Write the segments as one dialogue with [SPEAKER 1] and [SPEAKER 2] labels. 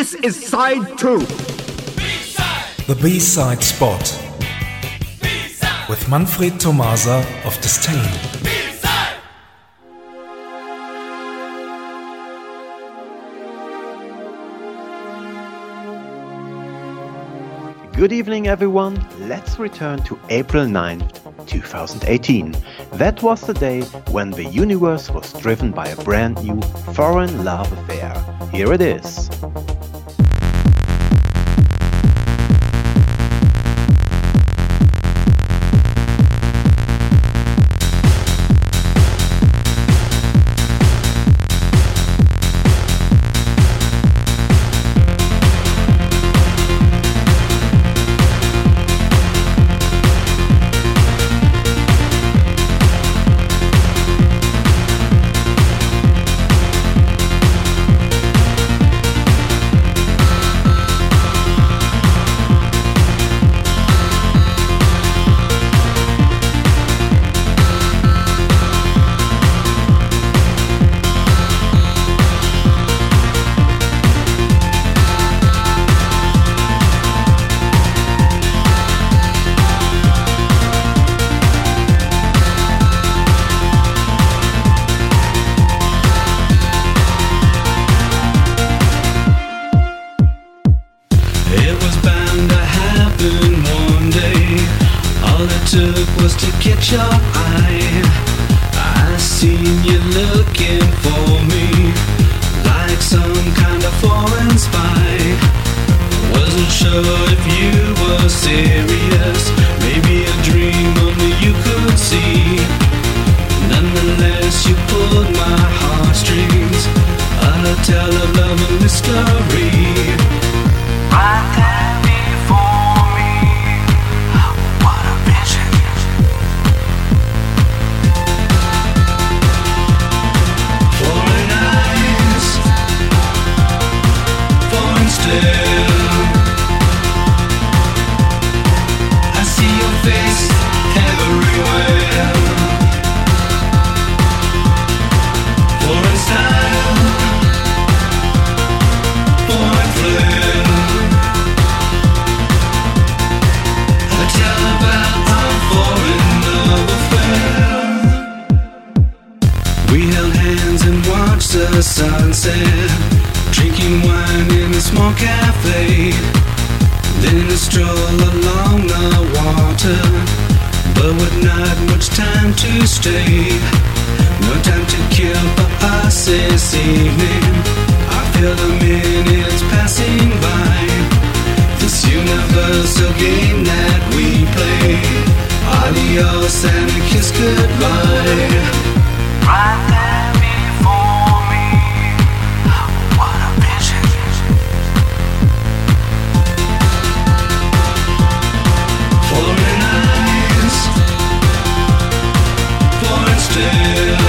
[SPEAKER 1] This is side 2.
[SPEAKER 2] B-side. The B-side spot. B-side. With Manfred Tomasa of Disdain. B-side.
[SPEAKER 3] Good evening, everyone. Let's return to April 9th, 2018. That was the day when the universe was driven by a brand new foreign love affair. Here it is.
[SPEAKER 4] Was to catch your eye. I seen you looking for me like some kind of foreign spy. Wasn't sure if you were serious, maybe a dream only you could see. Nonetheless, you pulled my heartstrings, a tale of love and mystery. Right there before me, what a vision. I see your face everywhere. Foreign style, foreign flair. I tell about our foreign love affair. We held hands and watched the sunset, drinking wine in a small cafe. Then a stroll along the water, but with not much time to stay. No time to kill for us this evening. I feel the minutes passing by. This universal game that we play. Adios and a kiss goodbye. Right there before me, what a vision. Foreign eyes, foreign stare.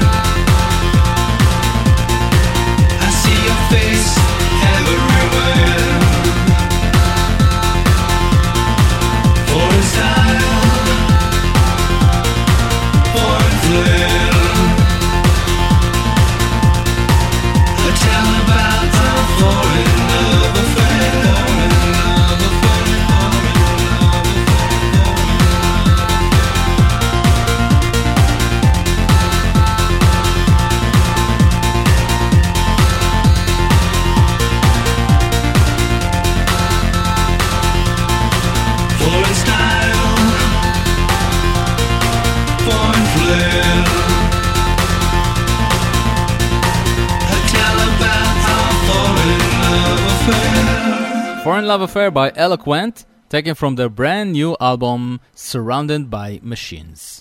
[SPEAKER 4] I see your face everywhere. Foreign style, foreign flair. I tell about our foreign love affair. Foreign style, foreign flair. I tell about our foreign love affair.
[SPEAKER 5] Foreign Love Affair by Eloquent, taken from their brand new album Surrounded by Machines.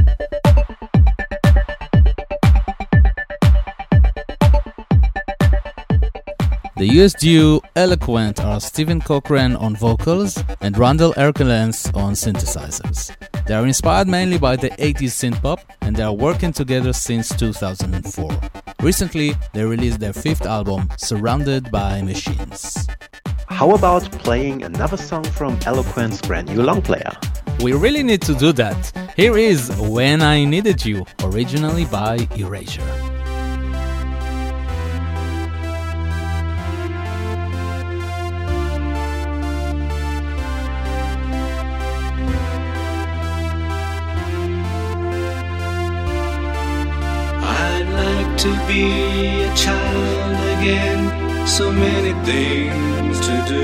[SPEAKER 5] The US duo Eloquent are Stephen Cochran on vocals and Randall Erkelens on synthesizers. They are inspired mainly by the 80s synth-pop and they are working together since 2004. Recently, they released their 5th album, Surrounded by Machines.
[SPEAKER 3] How about playing another song from Eloquent's brand new long player?
[SPEAKER 5] We really need to do that. Here is When I Needed You, originally by Erasure.
[SPEAKER 4] weekend, so many things to do.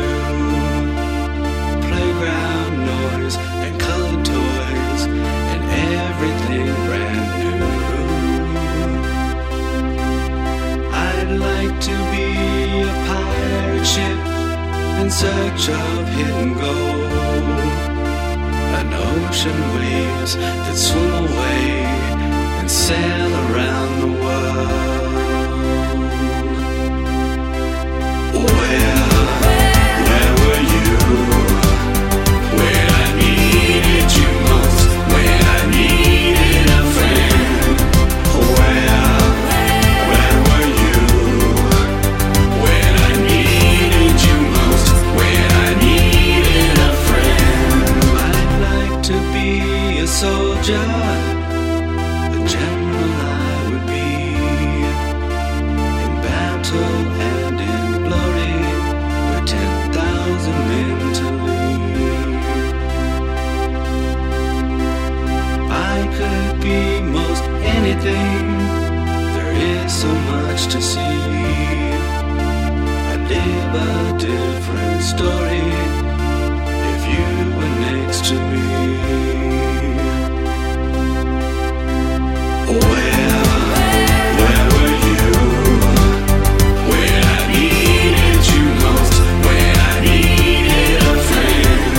[SPEAKER 4] Playground noise and colored toys and everything brand new. I'd like to be a pirate ship in search of hidden gold, an ocean waves that swim away and sail around the world. Where were you when I needed you most? When I needed a friend? Where were you when I needed you most? When I needed a friend? I'd like to be a soldier, a general I would be, in battle and in glory, with 10,000 men to lead. I could be most anything, there is so much to see. I'd live a different story if you were next to me. Where were you when I needed you most? When I needed a friend?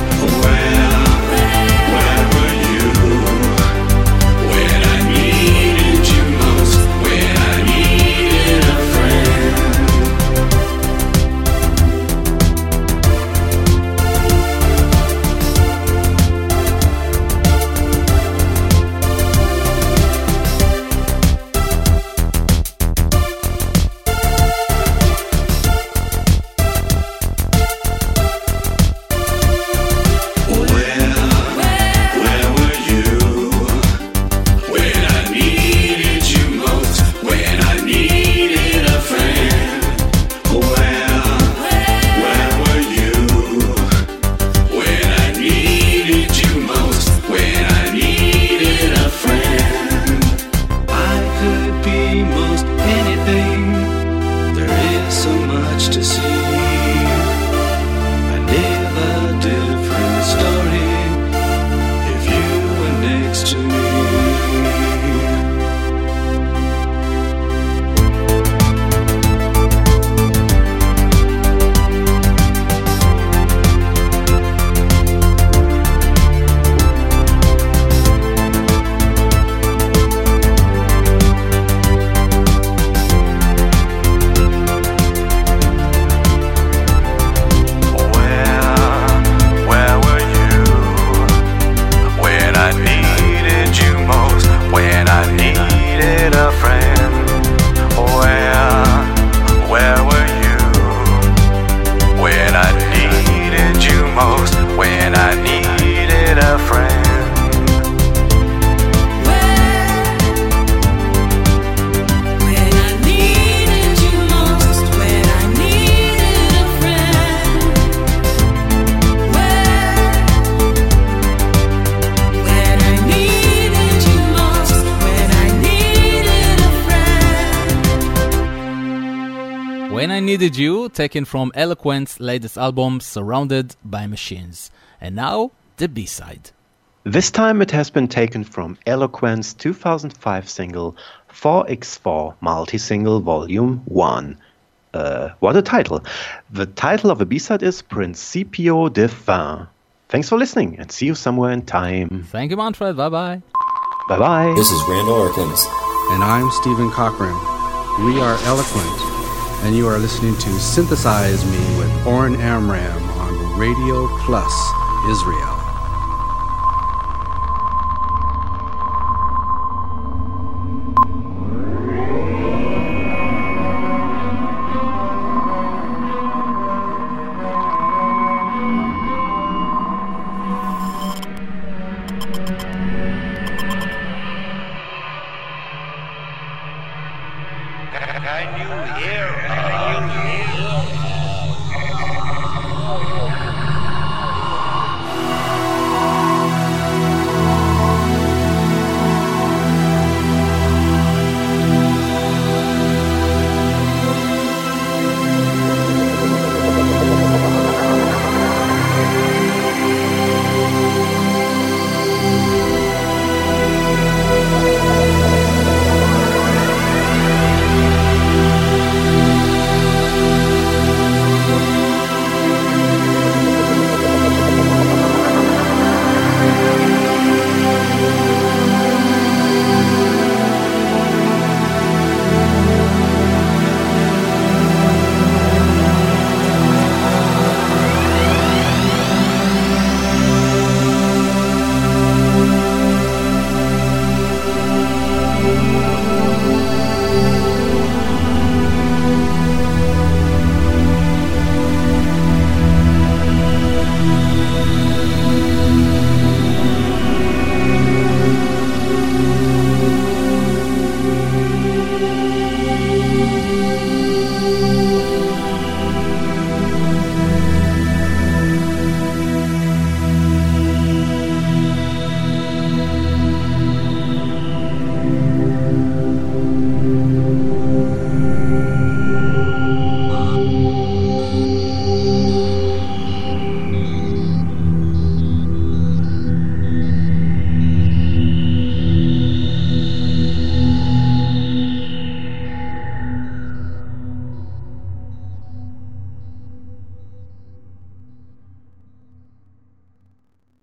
[SPEAKER 4] Where were you when I needed you most? When I needed a friend? Where were you when I needed you most? When I needed a friend? Where were you when I needed you most? When I needed a friend? I could be most anything, there is so much to see. I live a different story if you were next to me. Where were you when I needed you most? When I needed a friend? Where were you when I needed you most? When I needed a friend?
[SPEAKER 1] When I needed you most, when I needed a friend. When I needed you most, when I needed a friend.
[SPEAKER 5] When I Needed You, taken from Eloquent's latest album, Surrounded by Machines. And now, the B-side.
[SPEAKER 3] This time it has been taken from Eloquent's 2005 single 4x4 Multi-Single Volume 1. What a title. The title of the B-side is Principio de Fin. Thanks for listening and see you somewhere in time.
[SPEAKER 5] Thank you, Manfred. Bye-bye.
[SPEAKER 3] Bye-bye.
[SPEAKER 6] This is Randall Erkins.
[SPEAKER 7] And I'm Stephen Cochran. We are Eloquent, and you are listening to Synthesize Me with Oren Amram on Radio Plus Israel.